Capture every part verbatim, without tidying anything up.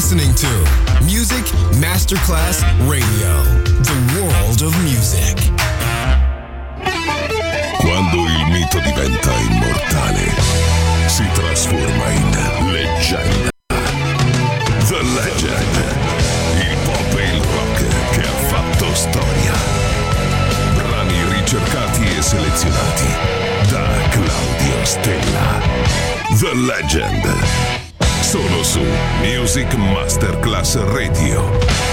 listening to Music Masterclass Radio, the world of music. Quando il mito diventa immortale, si trasforma in leggenda. The Legend, il pop e il rock che ha fatto storia. Brani ricercati e selezionati da Claudio Stella. The Legend, solo su Music Masterclass Radio.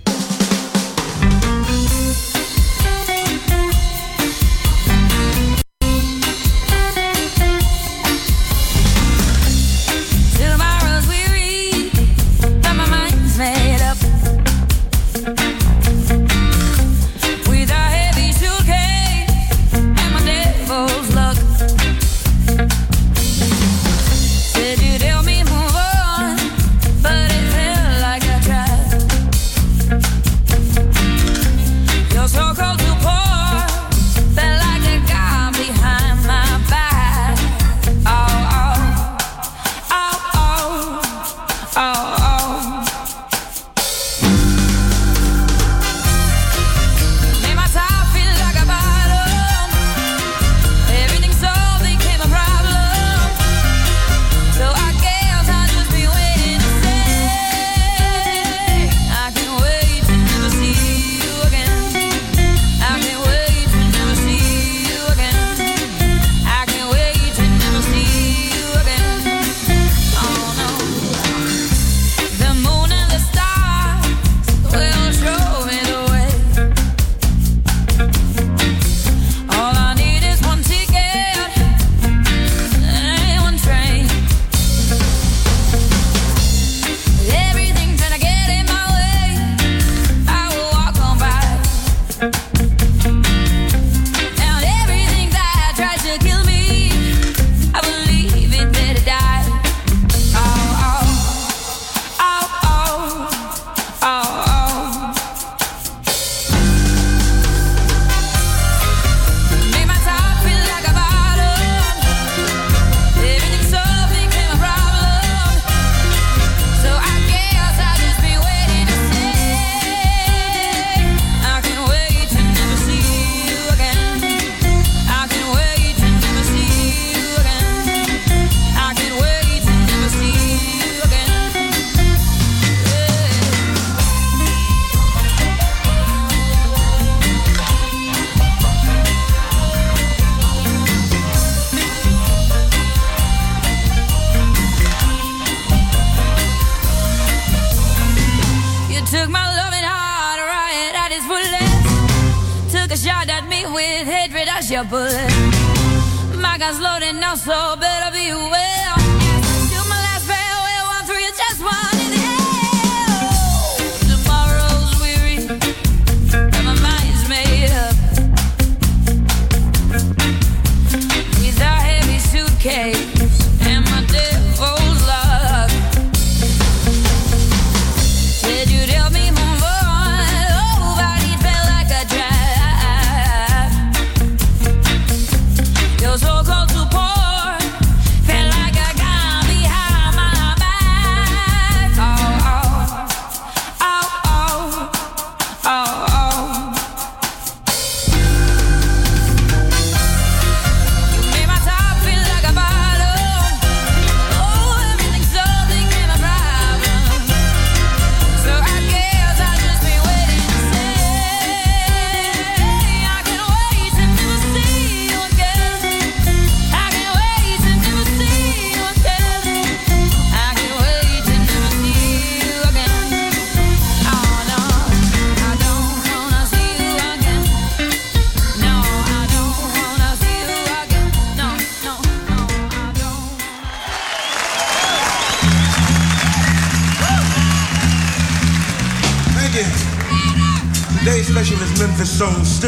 Today's special is Memphis Soul Stew.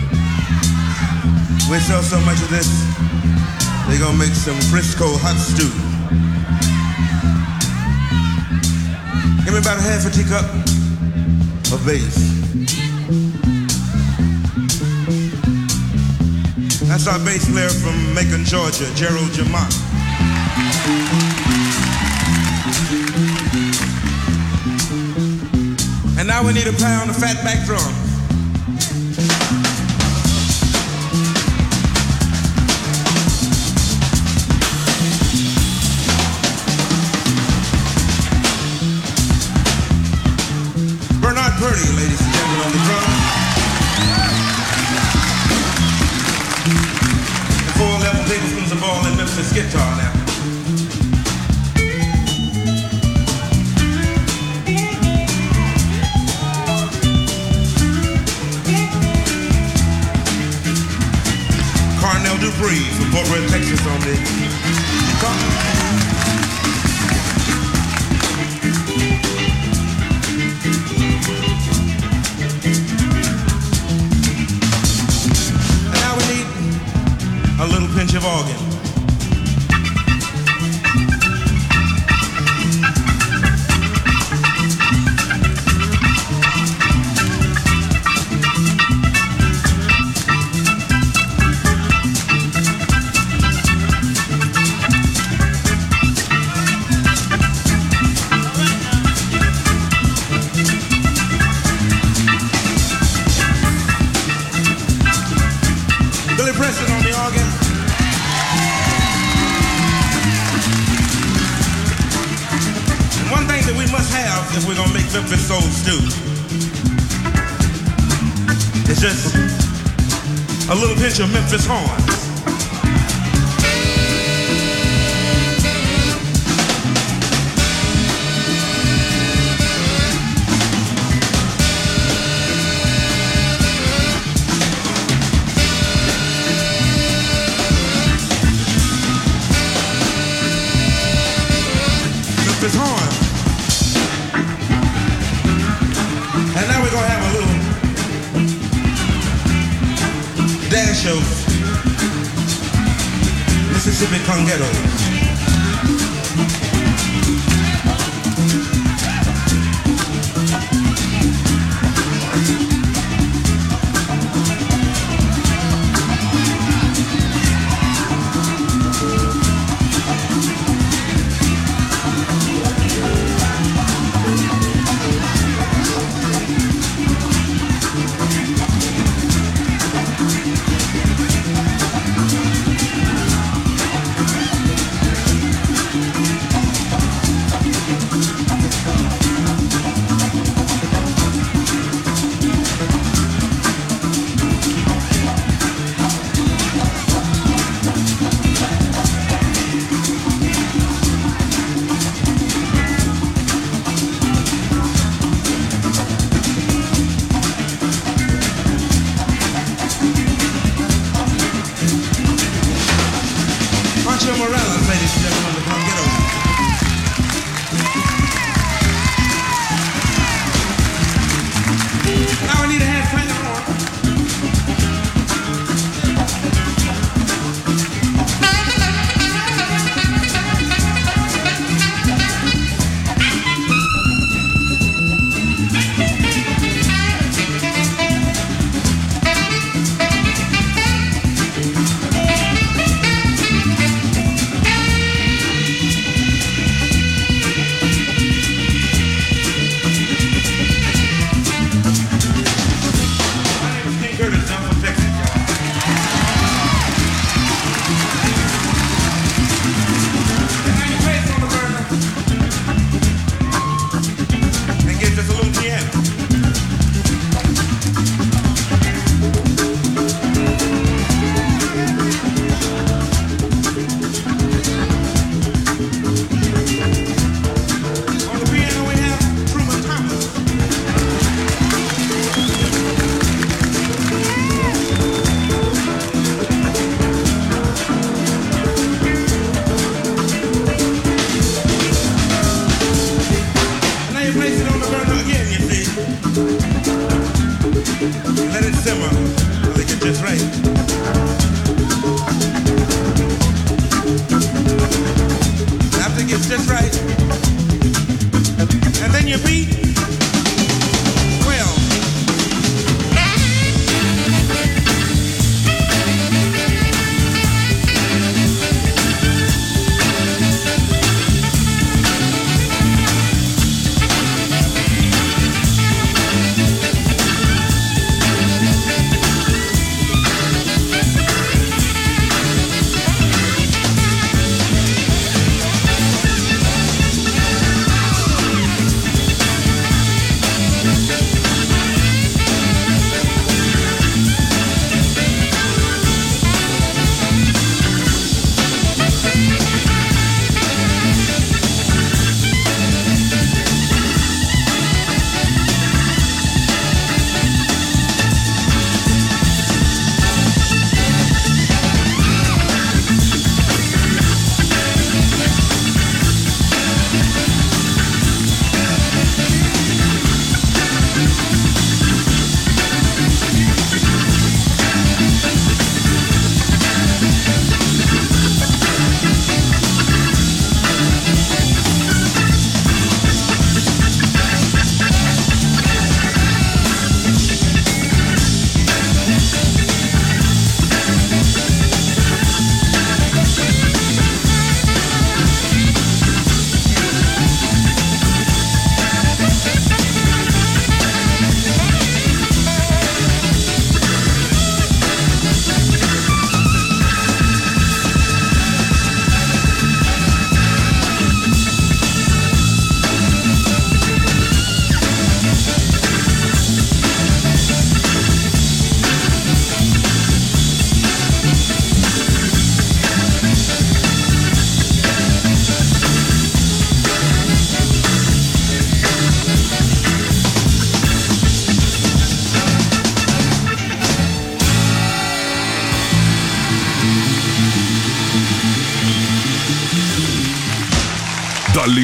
We sell so much of this, they're gonna make some Frisco hot stew. Give me about a half a teacup of bass. That's our bass player from Macon, Georgia, Gerald Jamont. now we need a pound of fatback drum. Bernard Purdy, ladies and gentlemen, on the drum. And four eleven tablespoons of oil and Memphis guitar now. Carnell Dupree from Fort Worth, Texas on the guitar. And now we need a little pinch of organ. If we're gonna make Memphis soul stew, it's just a little pinch of Memphis horns. Memphis horns. And now we're gonna have a little dash of Mississippi Congetto.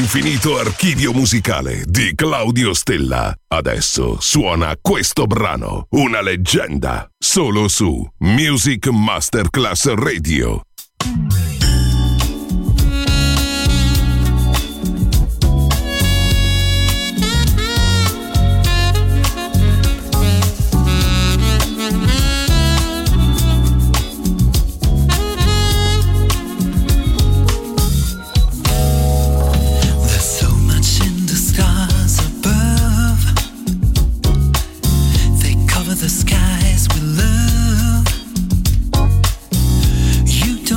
L'infinito archivio musicale di Claudio Stella. Adesso suona questo brano, una leggenda, solo su Music Masterclass Radio. The skies we love. You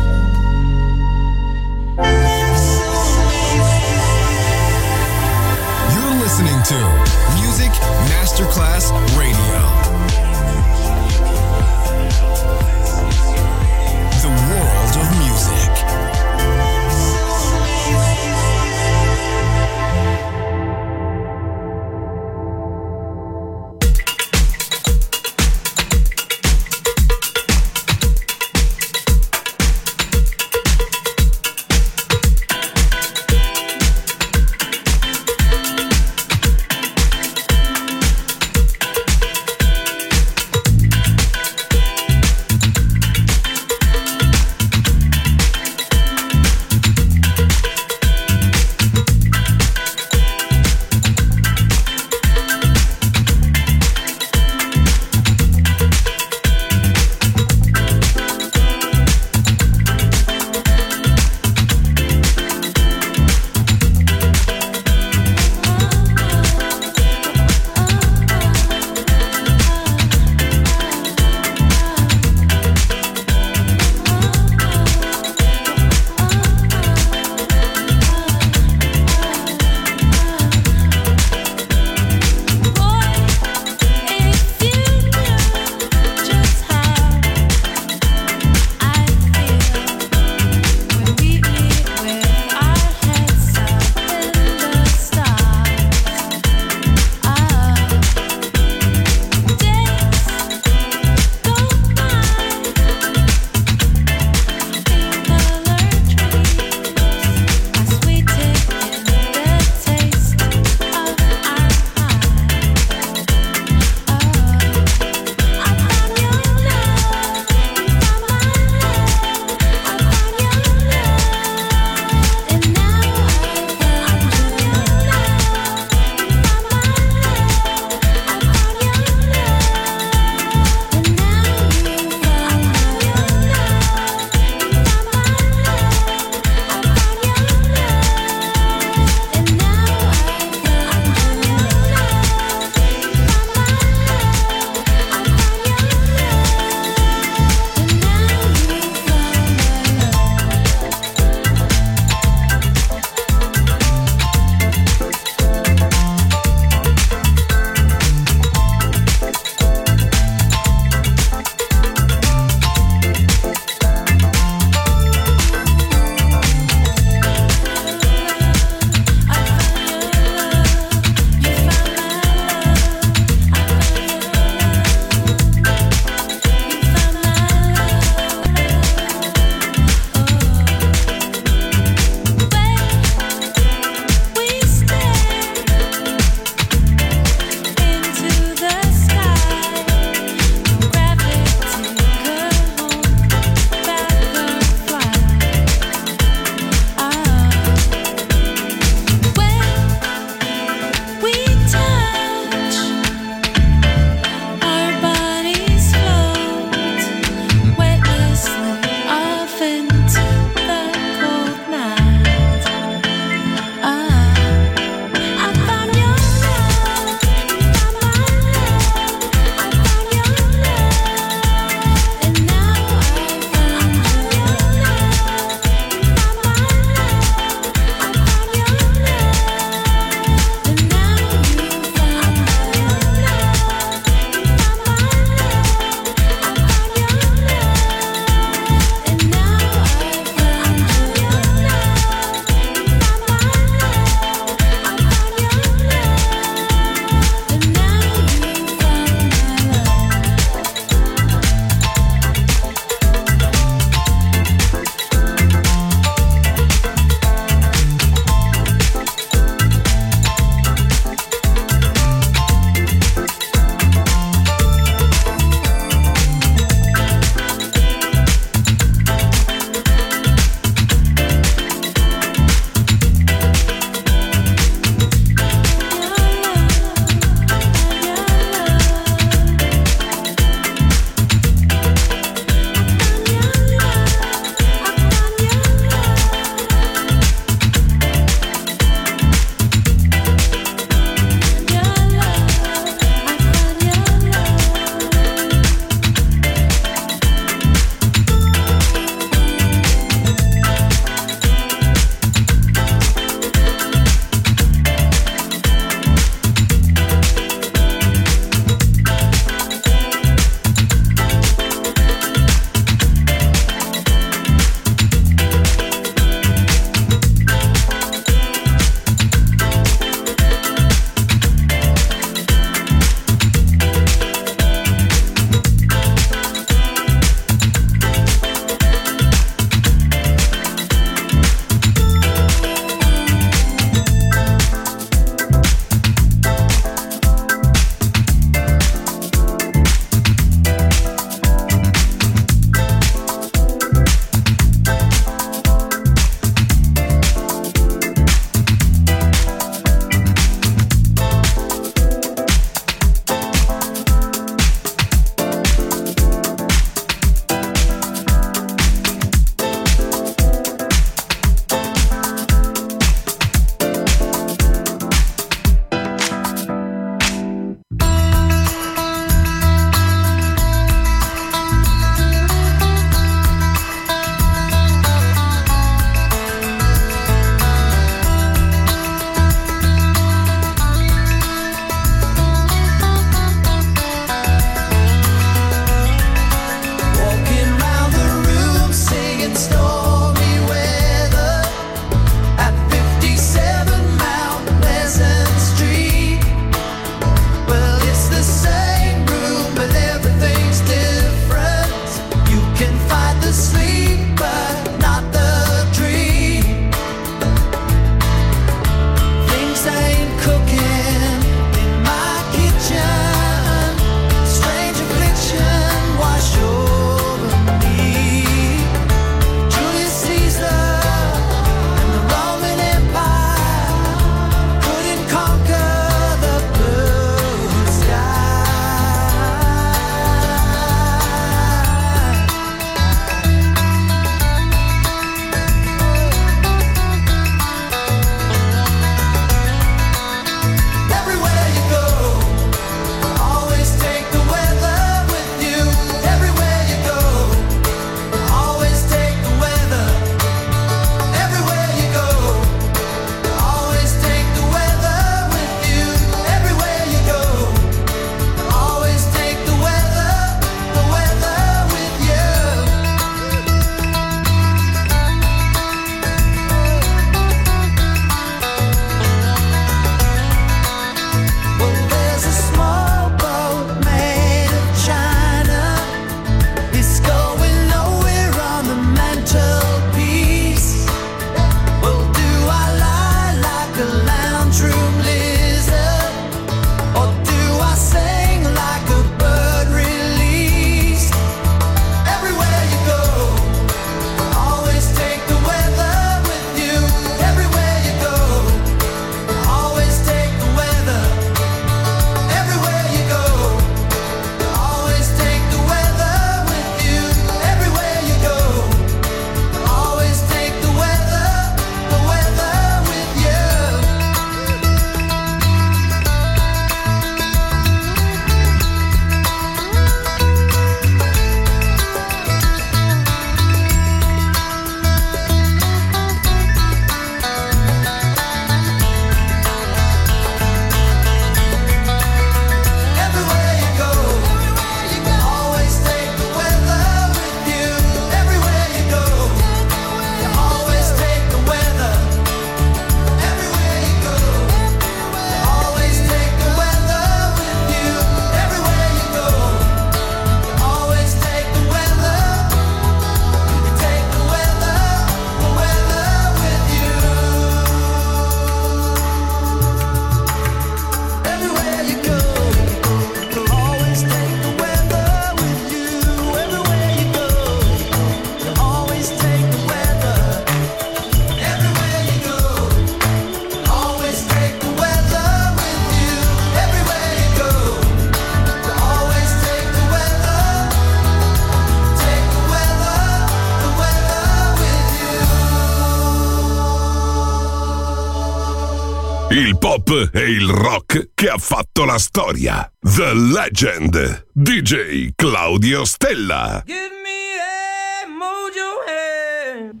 Il pop e il rock che ha fatto la storia. The Legend, D J Claudio Stella. Give me a mojo hand.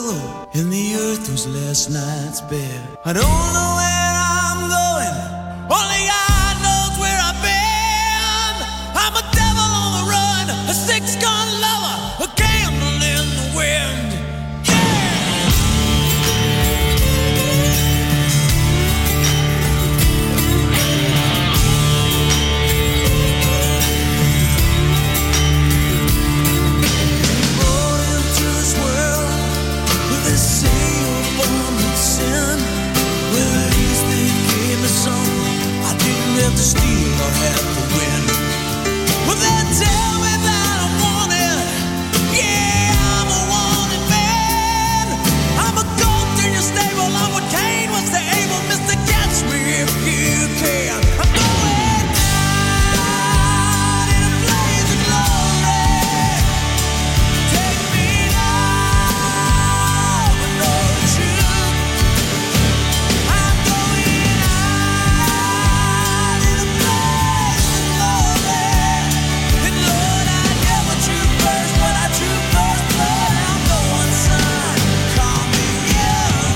last night's bed. I don't know where I'm going Only God knows where I've been. I'm a devil on the run, a six-gun lover, a candle in the wind. To steal or have to win. Well, they tell me that I'm wanted. Yeah, I'm a wanted man. I'm a goat in your stable. I'm what Cain was to Abel. Mister, catch me if you can. I'm going out in a blaze of glory. Take me now, but know the truth. I'm going out. And Lord, I never true first, but I true first blood. I'm the one son. Call me young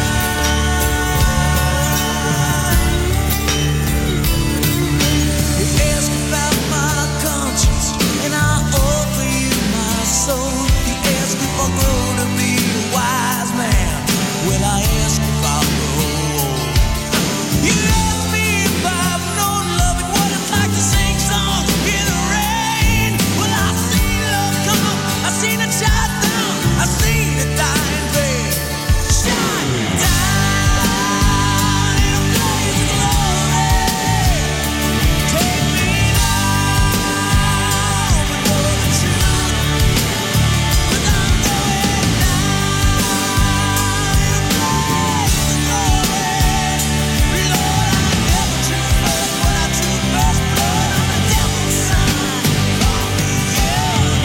gun. You ask about my conscience, and I offer you my soul. You ask if I'll grow to be a wise man. Well, I ask if I'll grow. You ask me if I've known love and what it's like to sing songs in the rain. Well, I've seen love come, I've seen it shut down, I've seen it die in vain. Shut down in a blaze of glory. Take me now, but know the truth. 'Cause I'm going down in a blaze of glory. Lord, I never true first, but I true first blood. I'm the devil's son. Call me young.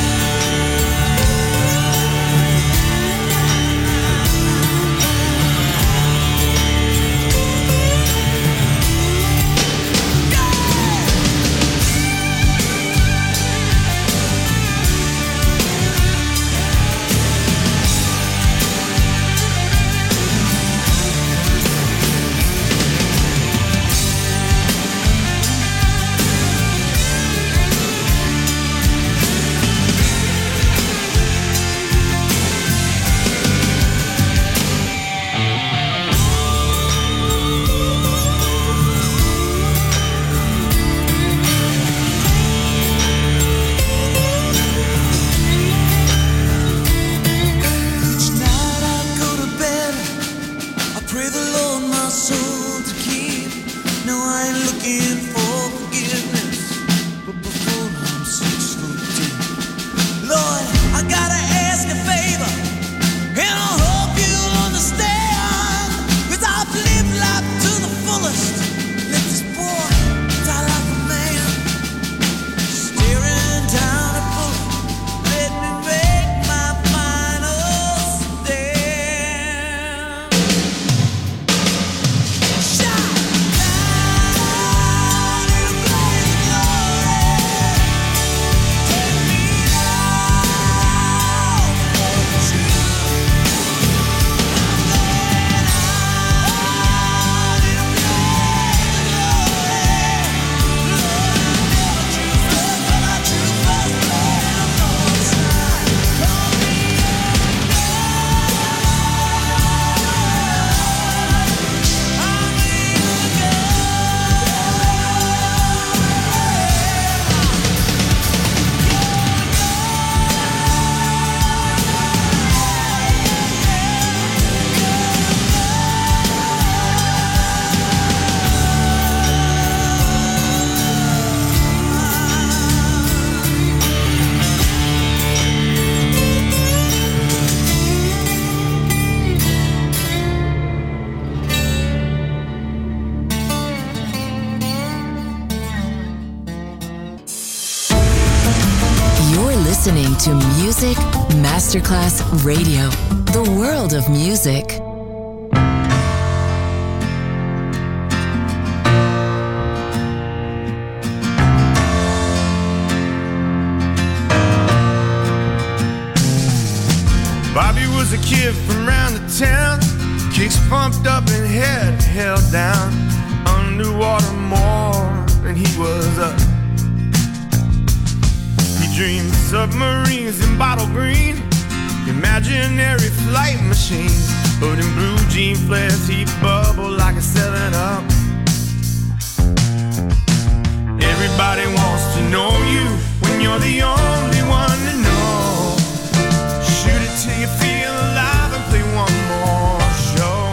Each night I go to bed, I pray the Lord my soul to keep. No, I ain't looking for forgiveness, but before I'm six foot deep. Lord, I gotta ask a favor, and I hope you'll understand. 'Cause I've lived life to the fullest. Let this boy die like a man, staring down a bullet. Let me make my final stand. Shut down in a blaze of glory. Take me now, but know the truth. I'm going out in a blaze of glory. Lord, I never true first, but I true first blood. I'm the one son. Call me young You're listening to Music Masterclass Radio, the world of music. Bobby was a kid from round the town, kicks pumped up and head held down. underwater more than he was up. He dreamed submarines in bottle green, imaginary flight machines, but in blue jean flares he bubbled like a seven up. Everybody wants to know you when you're the only one to know. Shoot it till you feel alive and play one more show.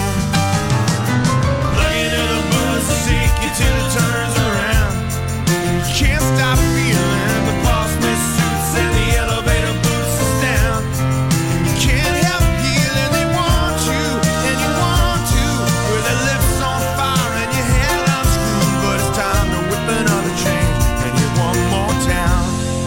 Plug into the buzz to shake you till it turns around. You can't stop feeling the boss-man suits and the elevator boots us down. You can't help feeling they want you and you want to, with their lips on fire and your head unscrewed. But it's time to whip another change and hit one more town.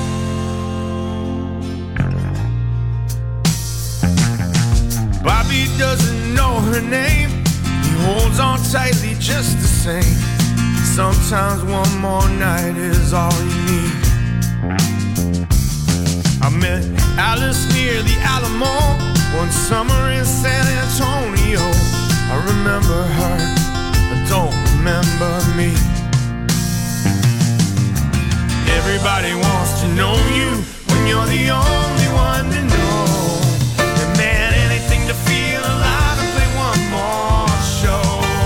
Bobby doesn't know her name, he holds on tightly just the same. Sometimes one more night is all you need. I met Alice near the Alamo one summer in San Antonio. I remember her, I don't remember me. Everybody wants to know you when you're the only one to know. And man, anything to feel alive and play one more show.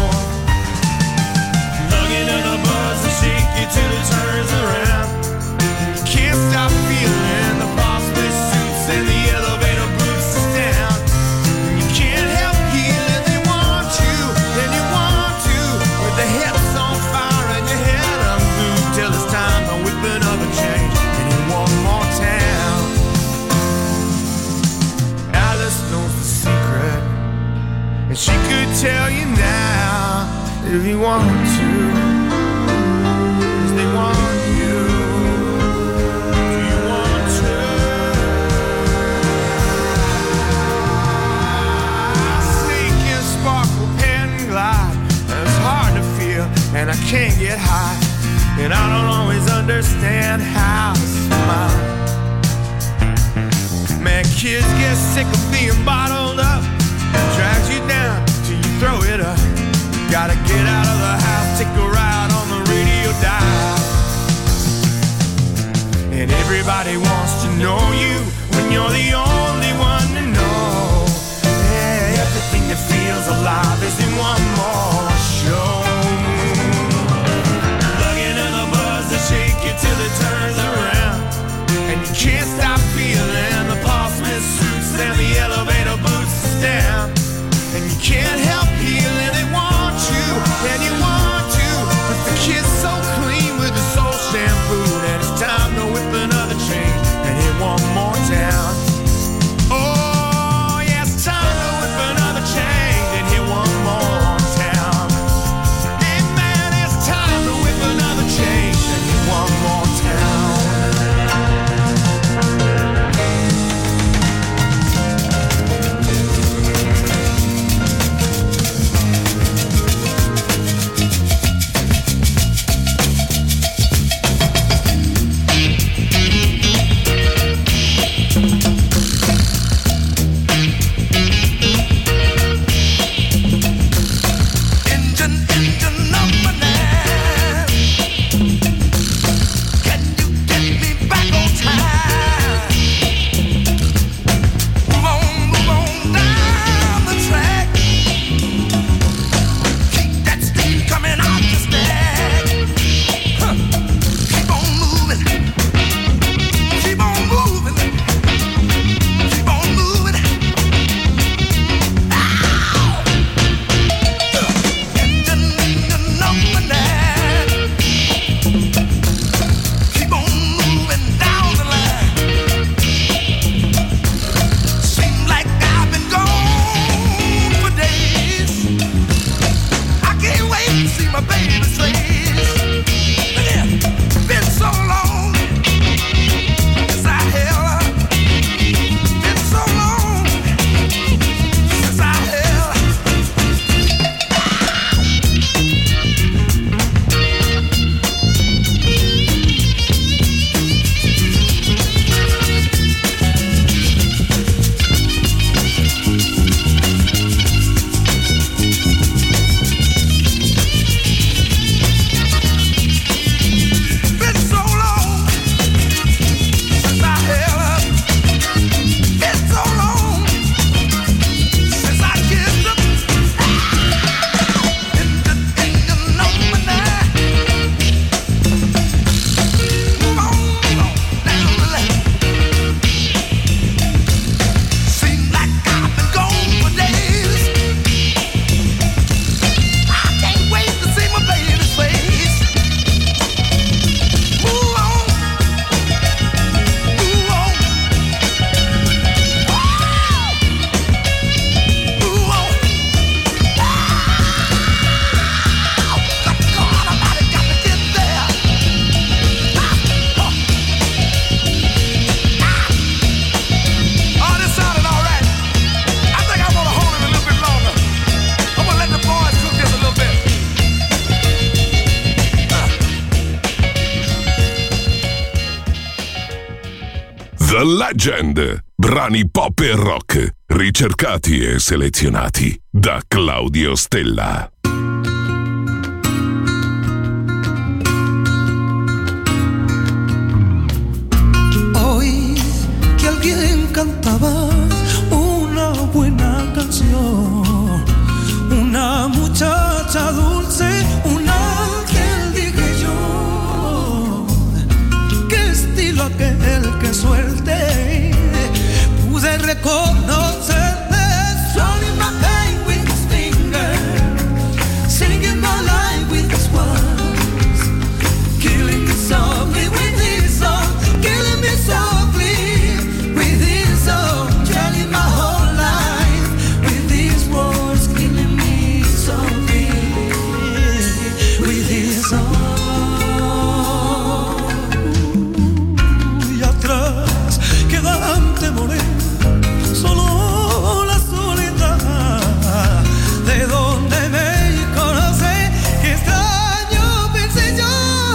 Plug into the buzz and shake you till it turns around. You can't stop feeling the boss-man suits and the elevator boots us down. You can't help feeling they want you and you want to, with the hips on fire and your head unglued, till it's time to whip another change and in one more town. Alice knows the secret, and she could tell you now if you want to, 'cause they want you. Do you want to? Sneak and sparkle, pen and glide. It's hard to feel, and I can't get high, and I don't always understand how to smile. Man, kids get sick of being bottled up, it drags you down till you throw it up. Gotta get out of the house, take a ride on the radio dial. And everybody wants to know you when you're the only one to know. Yeah, everything that feels alive is in one more show. Plug into the buzz to shake you till it turns around. And you can't stop feeling the boss-man suits and the elevator boots us down. And you can't help feeling they want you and you want to, but the kid's so clean with the soul shampoo, and it's time to whip another chain and hit one more town. Oh yeah, it's time to whip another chain and hit one more town. Hey man, it's time to whip another chain and hit one more town. The Legend. Brani pop e rock, ricercati e selezionati da Claudio Stella. Oí que alguien cantaba una buena canción, una muchacha dulce, un ángel, dije yo. Qué estilo aquel, qué suerte, pude reconocerle. Swallowing my pain with his finger, singing my life with his words, killing me softly with his song, killing me softly with his song, telling my whole life with his words, killing me softly with his song. Y atrás quedan temores, solo la soledad, de donde me conoce, qué extraño pensé yo,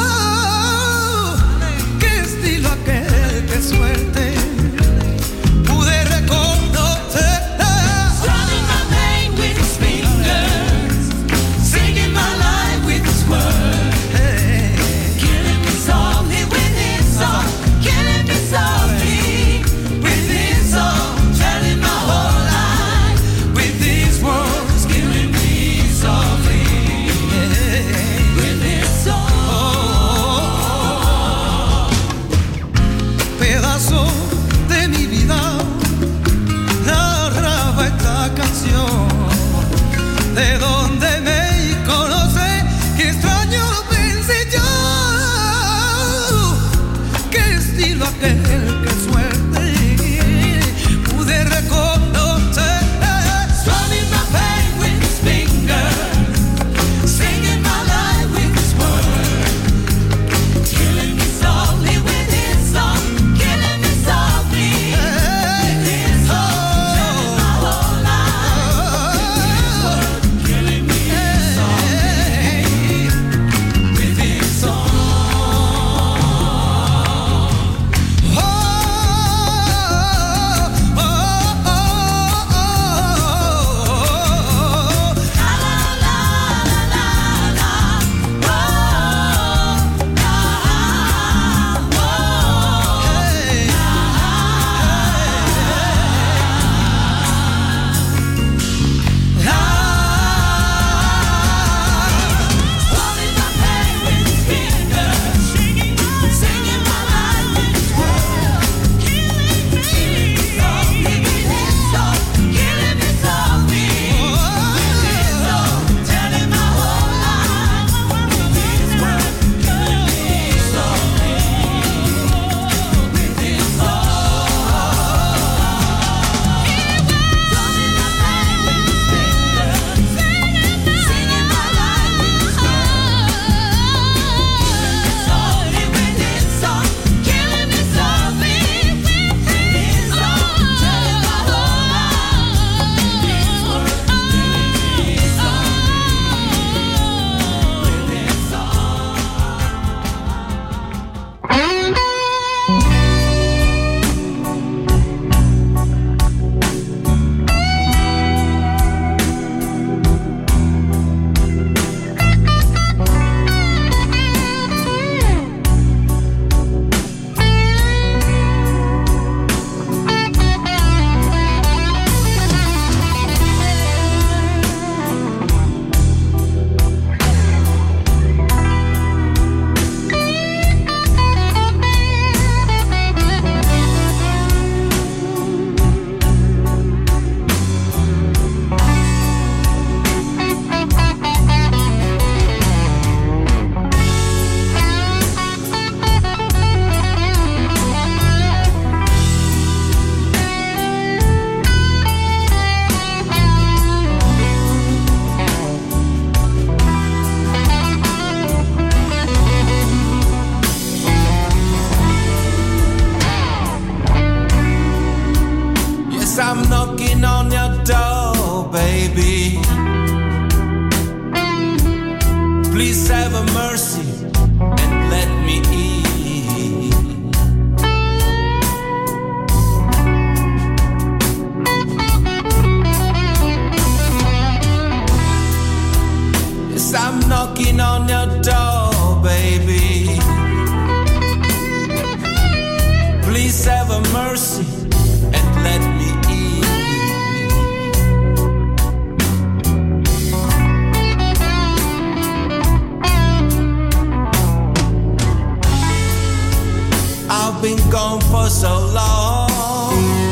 qué estilo aquel, qué suerte, pude reconocer. Swallowing my pain with his fingers, singing my life with his words, killing me softly with his song, killing me softly with his song, telling my whole life with these words, killing me softly with his song. Pedazo de mi vida narraba esta canción, de donde me conoce, qué extraño pensé yo, qué estilo aquel, qué suerte, pude reconocer. Swallowing my pain with his fingers, singing my life with his words, killing me softly with his song, killing me softly with his song, telling my whole life with his words, killing me softly with his song. Oh, oh, oh, oh, oh. La la la la la, oh, la, oh, hey, la. Swallowing my pain with his fingers, singing my life with his words, killing me softly with his song, killing me softly with his song, telling my whole life with his words, killing me softly with his song. Swallowing my pain with his fingers, singing my life with his words, softly with his song, killing me softly with his song, telling my whole life with his words, killing me softly with his Yes, I'm knocking on your door, baby. Please have a mercy and let me in. knocking on your door, baby. Please have a mercy and let me in. I've been gone for so long.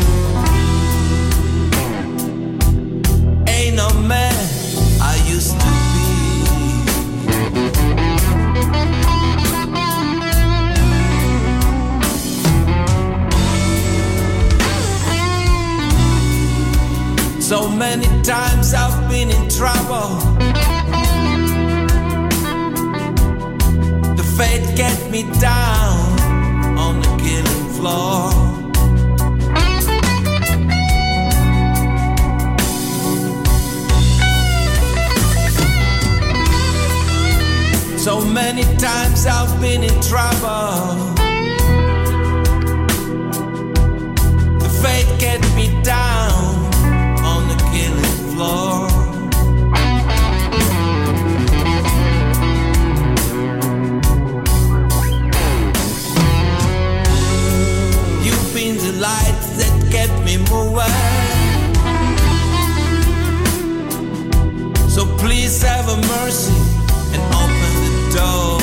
Ain't no man I used to be. So many times I've been in trouble. The fate get me down on the killing floor. So many times I've been in trouble. The fate get me down on the killing floor. You've been the lights that kept me moving. So please have a mercy and open the door.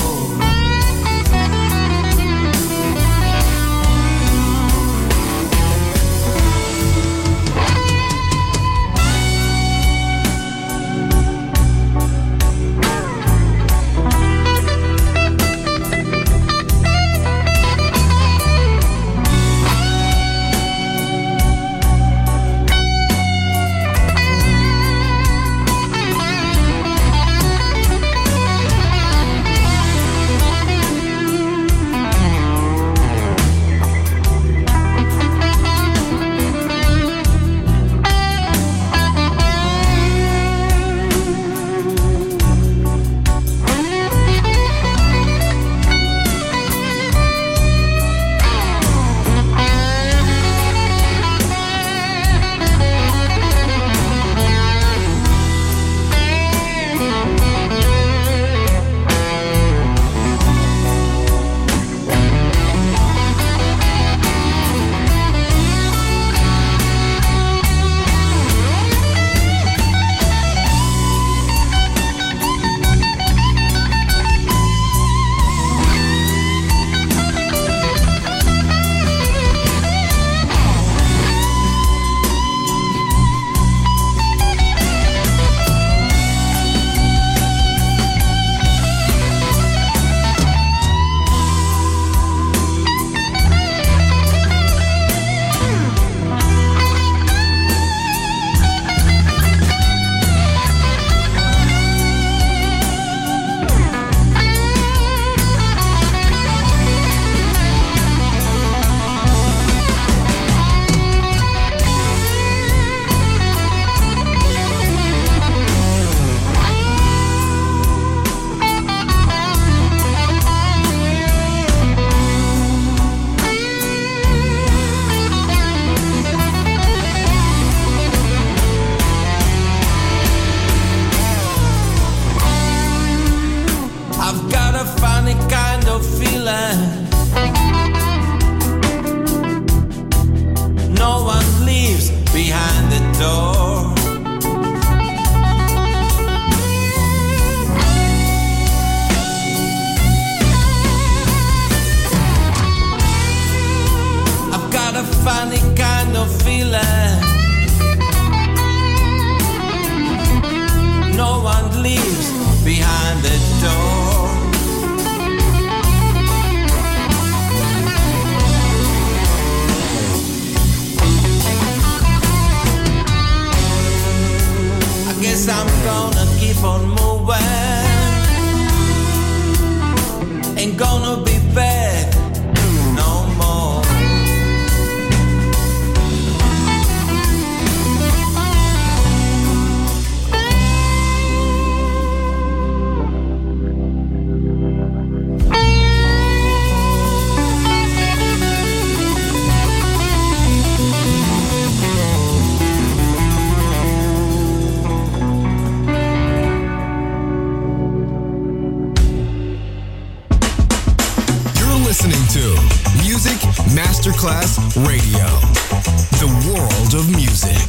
Masterclass Radio. The world of music.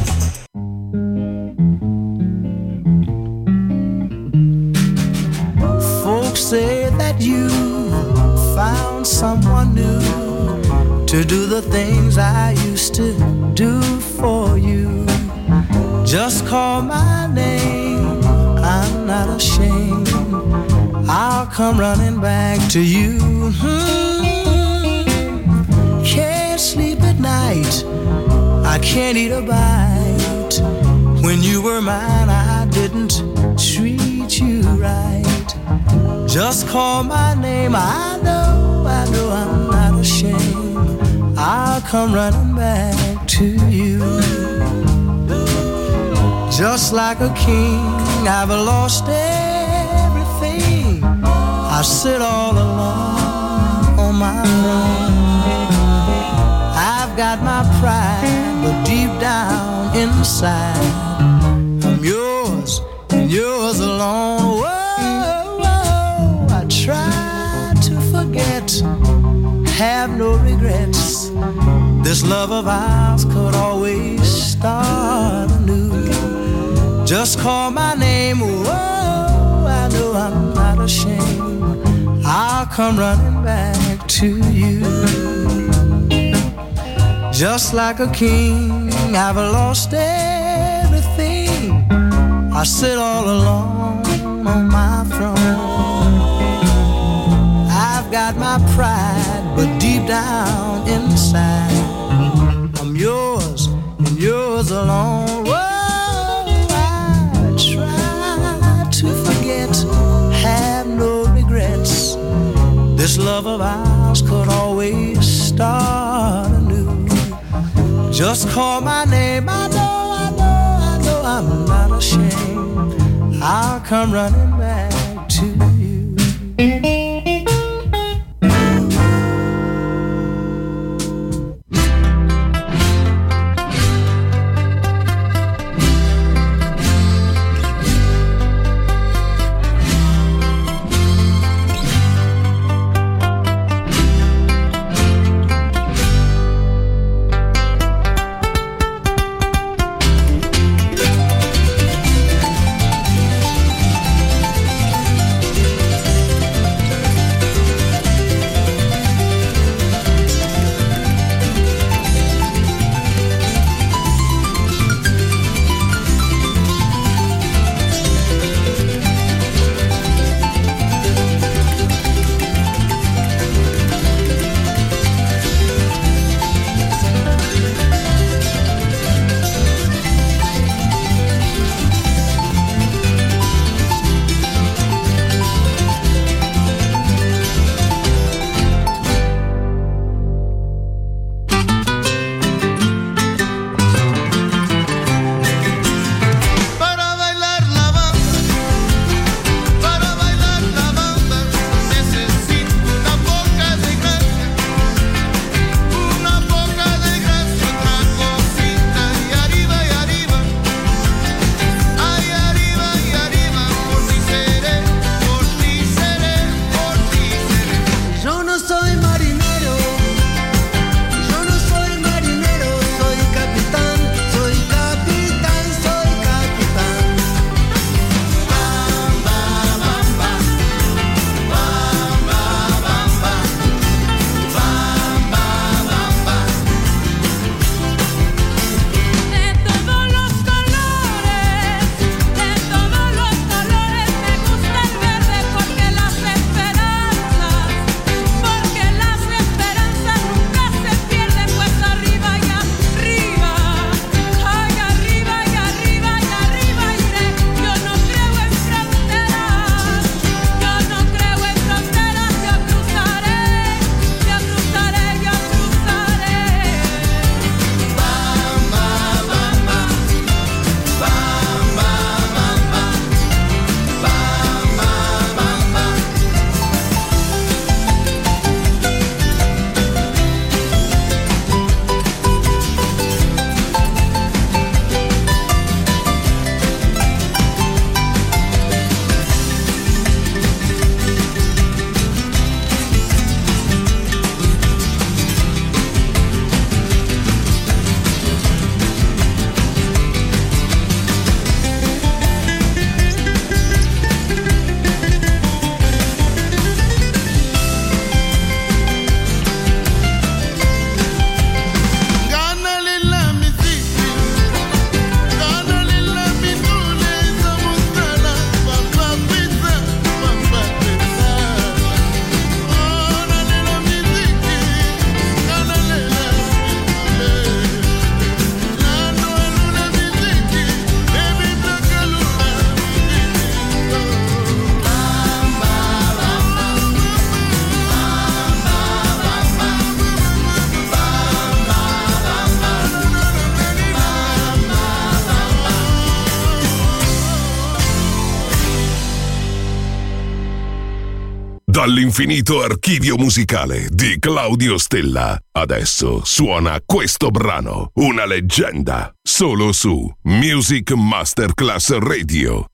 Folks say that you found someone new to do the things I used to do for you. Just call my name, I'm not ashamed. I'll come running back to you. Hmm. Can't sleep at night, I can't eat a bite. When you were mine, I didn't treat you right. Just call my name, I know, I know I'm not ashamed. I'll come running back to you. Just like a king, I've lost everything. I sit all alone on my throne. I've got my pride, but deep down inside, I'm yours and yours alone. Whoa, whoa, I try to forget, have no regrets. This love of ours could always start anew. Just call my name, whoa, I know I'm not ashamed. I'll come running back to you. Just like a king, I've lost everything. I sit all alone on my throne. I've got my pride, but deep down inside, I'm yours and yours alone. Whoa. Have no regrets. This love of ours could always start anew. Just call my name, I know, I know, I know I'm not ashamed. I'll come running back to you. dall'infinito archivio musicale di Claudio Stella. Adesso suona questo brano, una leggenda, solo su Music Masterclass Radio.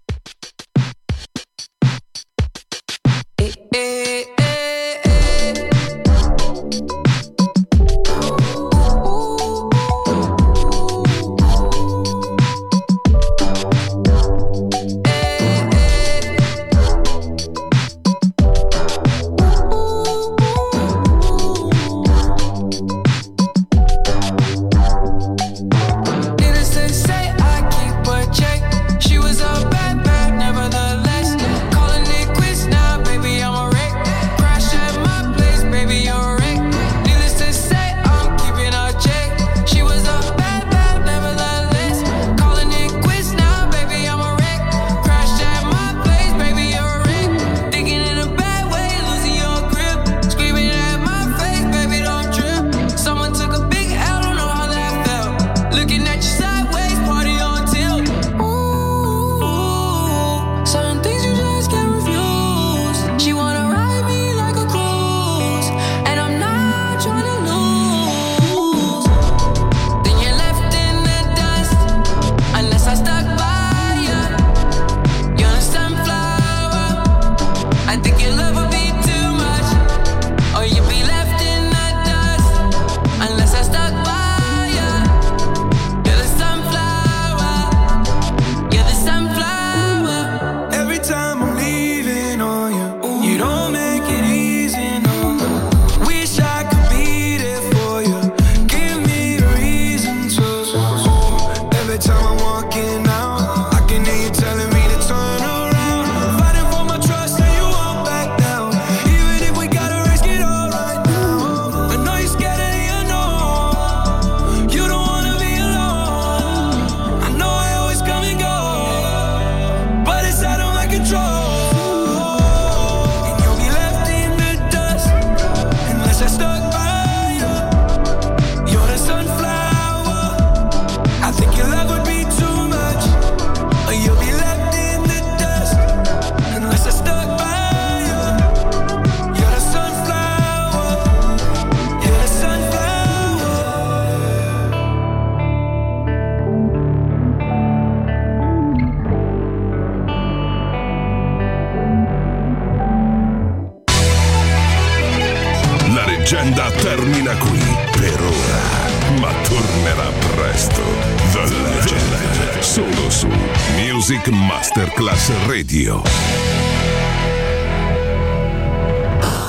Termina qui per ora, ma tornerà presto. The Legend, solo su Music Masterclass Radio.